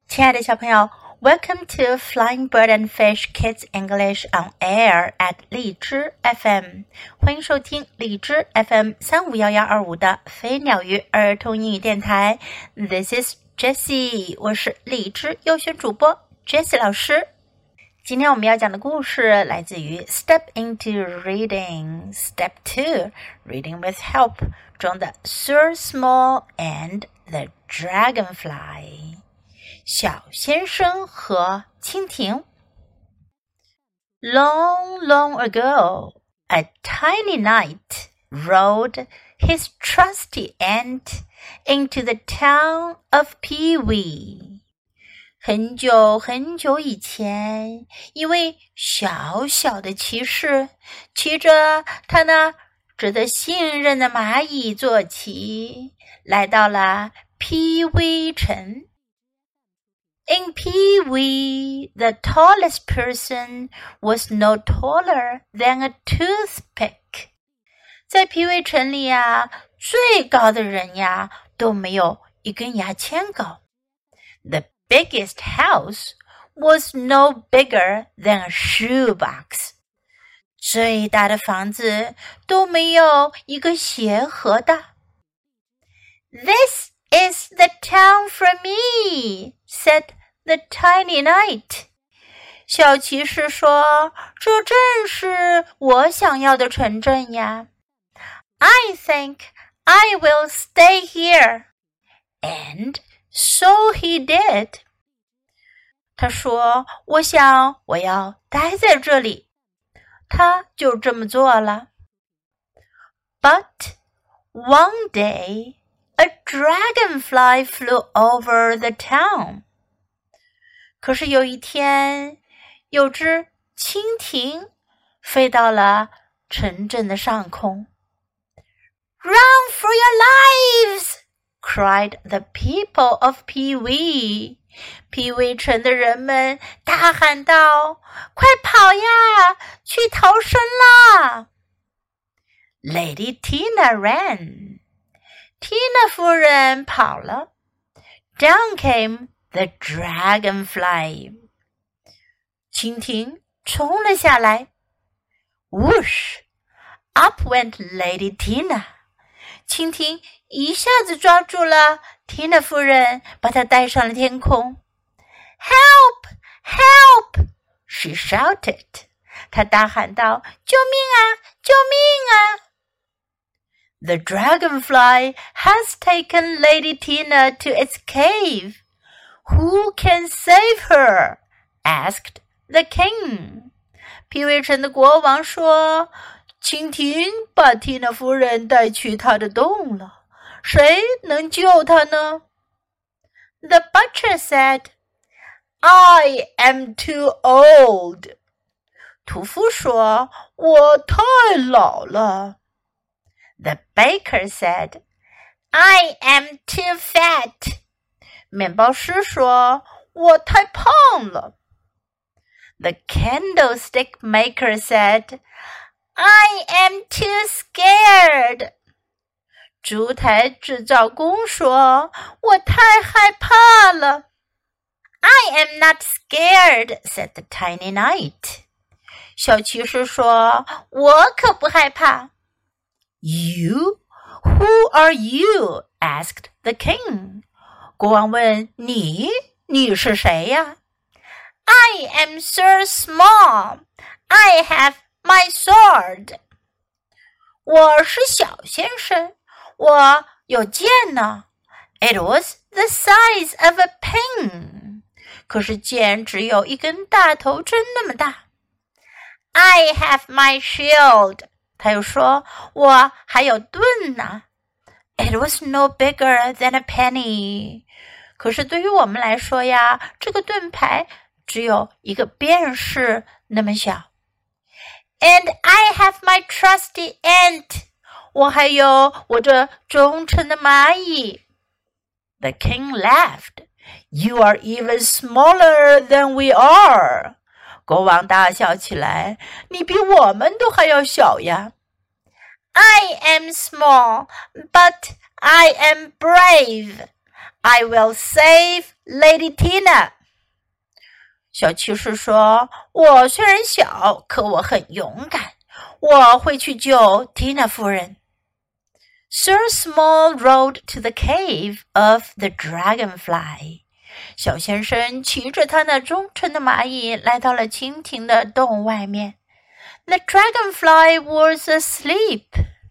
亲爱的小朋友 Welcome to Flying Bird and Fish Kids English on Air at 荔枝 FM 欢迎收听荔枝 FM 35112的飞鸟鱼儿童英语电台 This is Jessie 我是荔枝优选主播 Jessie 老师今天我们要讲的故事来自于 Step into Reading Step 2 Reading with Help 中的 Sir Small and the Dragonfly小先生和蜻蜓 Long, long ago, a tiny knight rode his trusty ant into the town of Pewee. 很久很久以前，一位小小的骑士骑着他那值得信任的蚂蚁坐骑，来到了 Pewee 城。In Pewee, the tallest person was no taller than a toothpick. 在皮威城里呀，最高的人呀，都没有一根牙签高。The biggest house was no bigger than a shoebox. 最大的房子都没有一个鞋盒大。This is the town for me, said the tiny knight. 小骑士说，这正是我想要的城镇呀。I think I will stay here. And so he did. 他说，我想我要待在这里。他就这么做了。But one day,A dragonfly flew over the town. 可是有一天，有只蜻蜓飞到了城镇的上空。Run for your lives! cried the people of Pewee. 皮威城的人们大喊道：快跑呀，去逃生啦 Lady Tina ran.Tina 夫人跑了 Down came the dragonfly 蜻蜓冲了下来 Whoosh Up went Lady Tina 蜻蜓一下子抓住了 Tina 夫人把她带上了天空 Help! Help! She shouted 她大喊道救命啊救命啊The dragonfly has taken Lady Tina to its cave. Who can save her? Asked the king. 皮威城的国王说，蜻蜓把缇娜夫人带去她的洞了，谁能救她呢 The butcher said, I am too old. 屠夫说，我太老了。The baker said, I am too fat. 面包师说，我太胖了。The candlestick maker said, I am too scared. 烛台制造工说，我太害怕了。I am not scared, said the tiny knight. 小骑士说，我可不害怕。You? Who are you? asked the king. 国王问你是谁呀 I am Sir Small. I have my sword. 我是小先生，我有剑呢。It was the size of a pin. 可是剑只有一根大头针那么大。I have my shield.他又说，我还有盾呢。It was no bigger than a penny. 可是对于我们来说呀，这个盾牌只有一个便士那么小。And I have my trusty ant. 我还有我这忠诚的蚂蚁。The king laughed. You are even smaller than we are.国王大笑起来，你比我们都还要小呀。I am small, but I am brave. I will save Lady Tina. 小骑士说，我虽然小，可我很勇敢，我会去救 Tina 夫人。Sir Small rode to the cave of the dragonfly. 小先生骑着他那忠诚的蚂蚁来到了蜻蜓的洞外面。The dragonfly was asleep.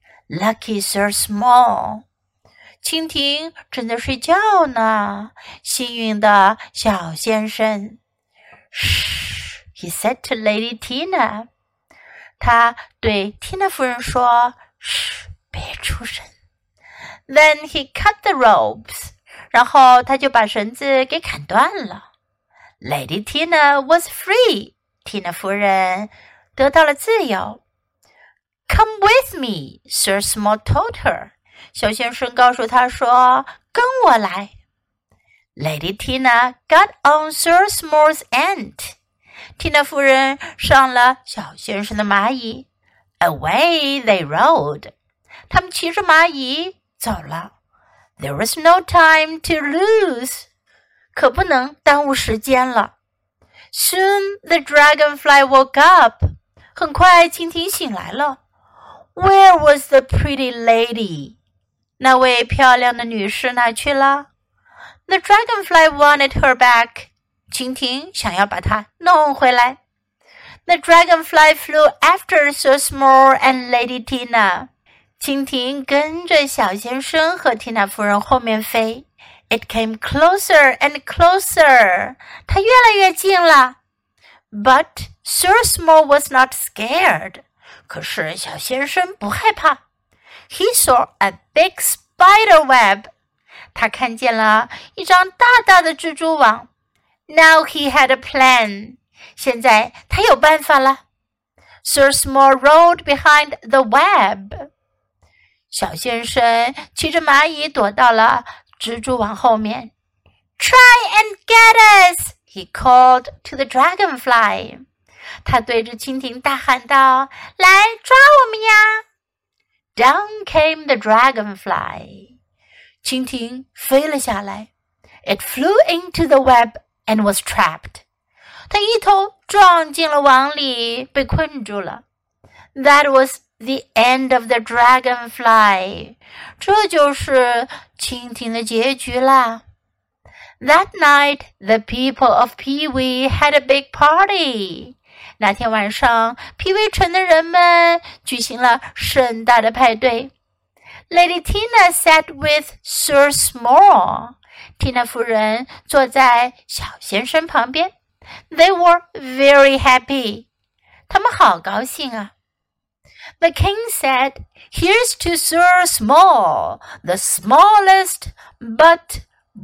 Lucky Sir Small. 蜻蜓正在睡觉呢，幸运的小先生。Shh, he said to Lady Tina. 他对 Tina 夫人说，嘘，别出声。Then he cut the ropes. 然后他就把绳子给砍断了。Lady Tina was free. Tina 夫人得到了自由。Come with me, Sir Small told her. 小先生告诉他说，跟我来。Lady Tina got on Sir Small's ant. Tina 夫人上了小先生的蚂蚁。Away they rode. 他们骑着蚂蚁走了。There was no time to lose. 可不能耽误时间了。Soon the dragonfly woke up. 很快蜻蜓醒来了。Where was the pretty lady? 那位漂亮的女士哪去了？ The dragonfly wanted her back. 蜻蜓想要把她弄回来。The dragonfly flew after Sir Small and Lady Tina. 蜻蜓跟着小先生和缇娜夫人后面飞。It came closer and closer. 它越来越近了。But Sir Small was not scared. 可是小先生不害怕。He saw a big spider web. 他看见了一张大大的蜘蛛网。Now he had a plan. 现在他有办法了。Sir Small rode behind the web. 小先生骑着蚂蚁躲到了蜘蛛网后面。Try and get us, he called to the dragonfly. 他对着蜻蜓大喊道，来抓我们呀。Down came the dragonfly. 蜻蜓飞了下来。It flew into the web and was trapped. 它一头撞进了网里，被困住了。That was the end of the dragonfly. 这就是蜻蜓的结局啦。That night, the people of Pewee had a big party. 那天晚上，皮威城的人们举行了盛大的派对。Lady Tina sat with Sir Small. Tina 夫人坐在小先生旁边。They were very happy. 他们好高兴啊。The king said, Here's to Sir Small, the smallest but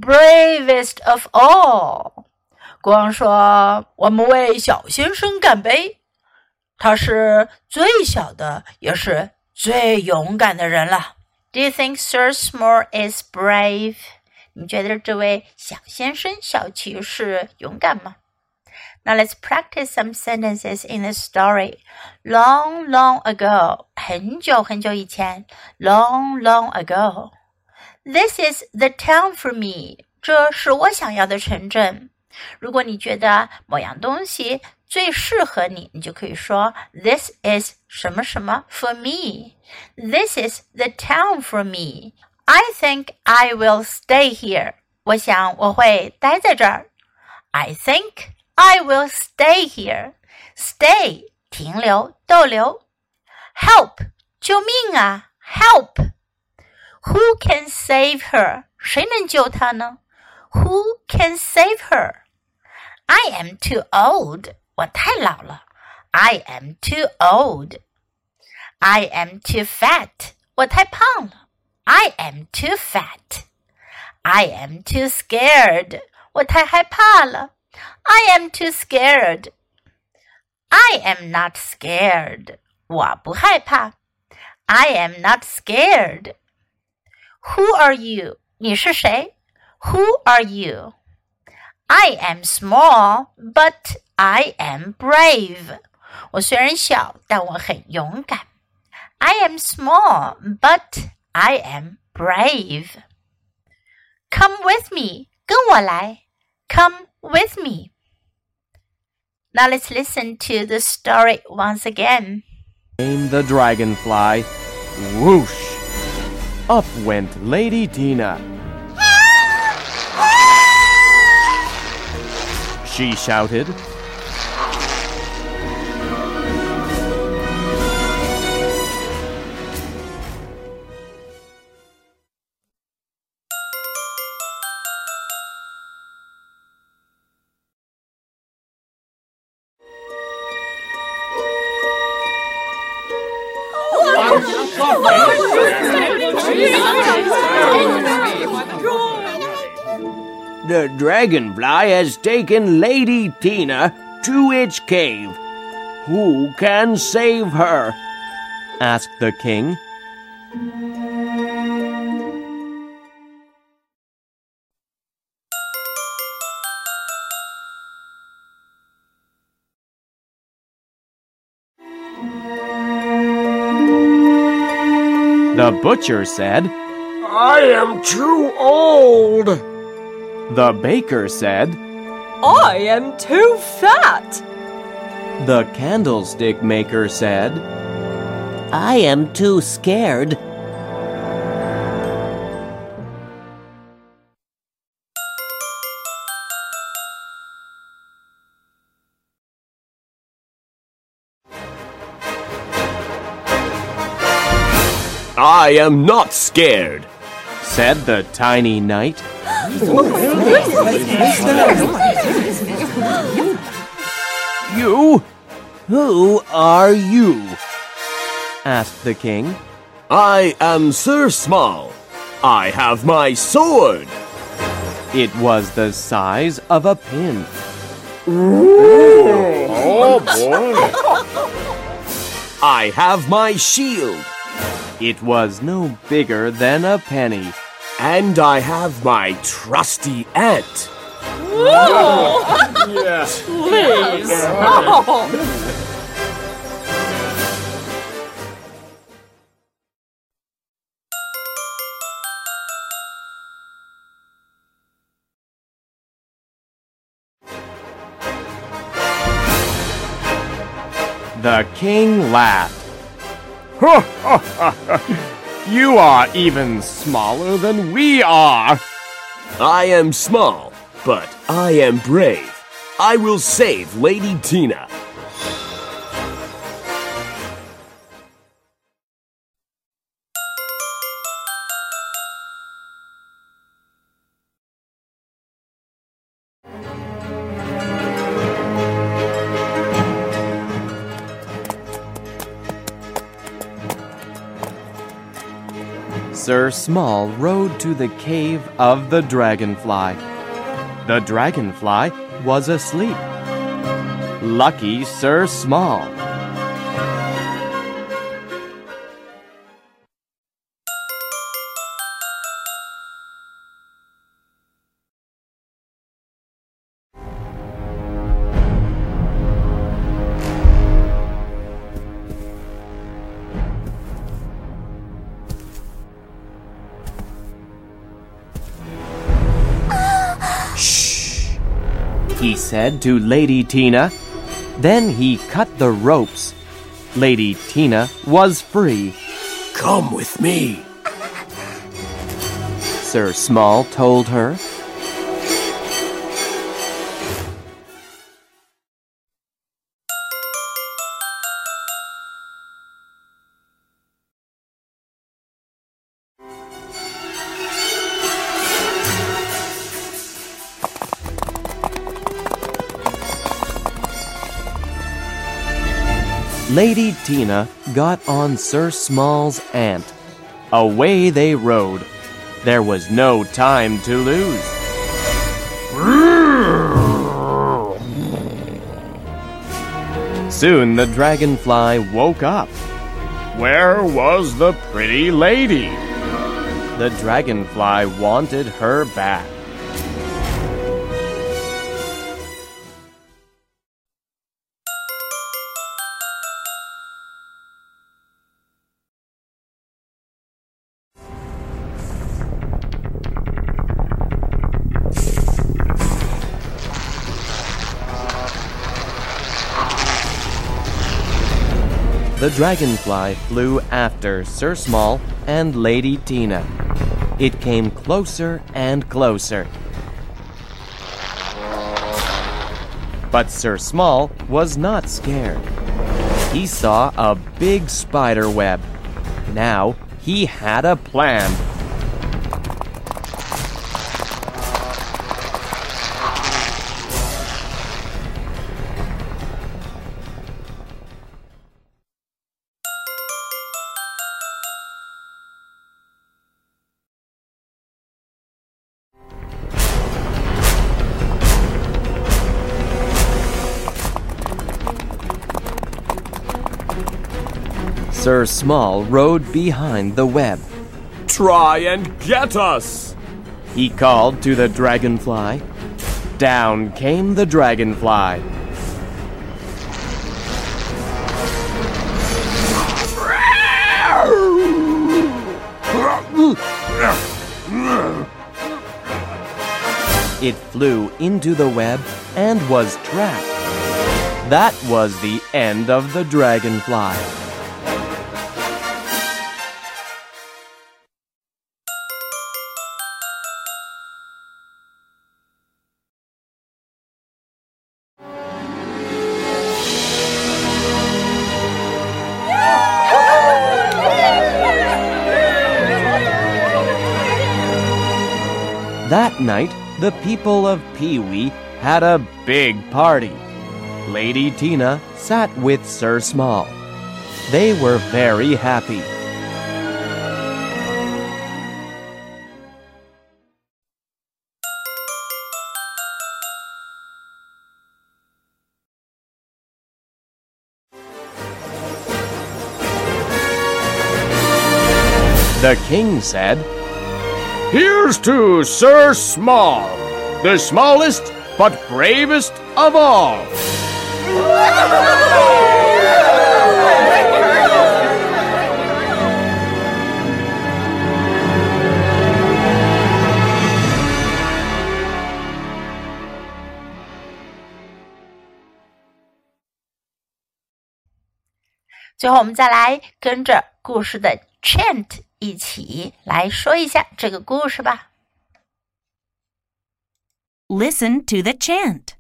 bravest of all. 国王说，我们为小先生干杯。他是最小的，也是最勇敢的人了。Do you think Sir Small is brave? 你觉得这位小先生、小骑士勇敢吗？ Now let's practice some sentences in the story. Long, long ago. 很久很久以前。Long, long ago. This is the town for me. 这是我想要的城镇。如果你觉得某样东西最适合你，你就可以说 This is 什么什么 for me. This is the town for me. I think I will stay here. 我想我会待在这儿。I think I will stay here. Stay 停留逗留。Help 救命啊 Help. Who can save her? 谁能救她呢？ Who can save her? I am too old. 我太老了。I am too old. I am too fat. 我太胖了。I am too fat. I am too scared. 我太害怕了。I am too scared. I am not scared. 我不害怕。I am not scared. Who are you? 你是谁？ Who are you? I am small, but I am brave. 我虽然小，但我很勇敢。I am small, but I am brave. Come with me. 跟我来。Come with me. Now let's listen to the story once again. Came the dragonfly. Whoosh! Up went Lady Tina. She shouted. The dragonfly has taken Lady Tina to its cave. Who can save her? Asked the king. The butcher said, I am too old. The baker said, I am too fat. The candlestick maker said, I am too scared. I am not scared, said the tiny knight. You? Who are you? Asked the king. I am Sir Small. I have my sword. It was the size of a pin. Oh boy. I have my shield. It was no bigger than a penny. And I have my trusty ant. Yes. Please. Oh. The king laughed. You are even smaller than we are. I am small, but I am brave. I will save Lady Tina. Sir Small rode to the cave of the dragonfly. The dragonfly was asleep. Lucky Sir Small. He said to Lady Tina. Then he cut the ropes. Lady Tina was free. Come with me, Sir Small told her. Lady Tina got on Sir Small's ant. Away they rode. There was no time to lose. Soon the dragonfly woke up. Where was the pretty lady? The dragonfly wanted her back. the dragonfly flew after Sir Small and Lady Tina. It came closer and closer. But Sir Small was not scared. He saw a big spider web. Now he had a plan. Sir Small rode behind the web. Try and get us! He called to the dragonfly. Down came the dragonfly. It flew into the web and was trapped. That was the end of the dragonfly. That night, the people of Pee-wee had a big party. Lady Tina sat with Sir Small. They were very happy. The king said, Here's to Sir Small, the smallest but bravest of all. 最后我们再来跟着故事的 chant 一起来说一下这个故事吧。 Listen to the chant.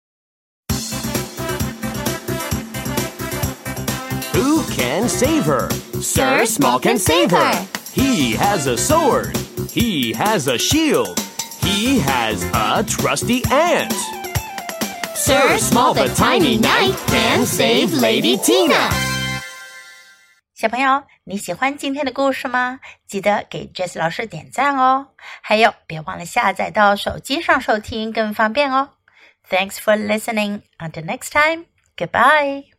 Who can save her? Sir Small can save her. He has a sword. He has a shield. He has a trusty ant. Sir Small the tiny knight can save Lady Tina. 小朋友，你喜欢今天的故事吗？记得给 Jessie 老师点赞哦。还有，别忘了下载到手机上收听更方便哦。Thanks for listening. Until next time. Goodbye.